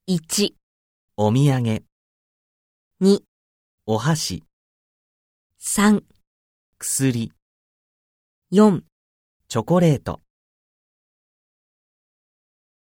1、 お土産、 2、 お箸、 3、 薬、 4 チョコレート。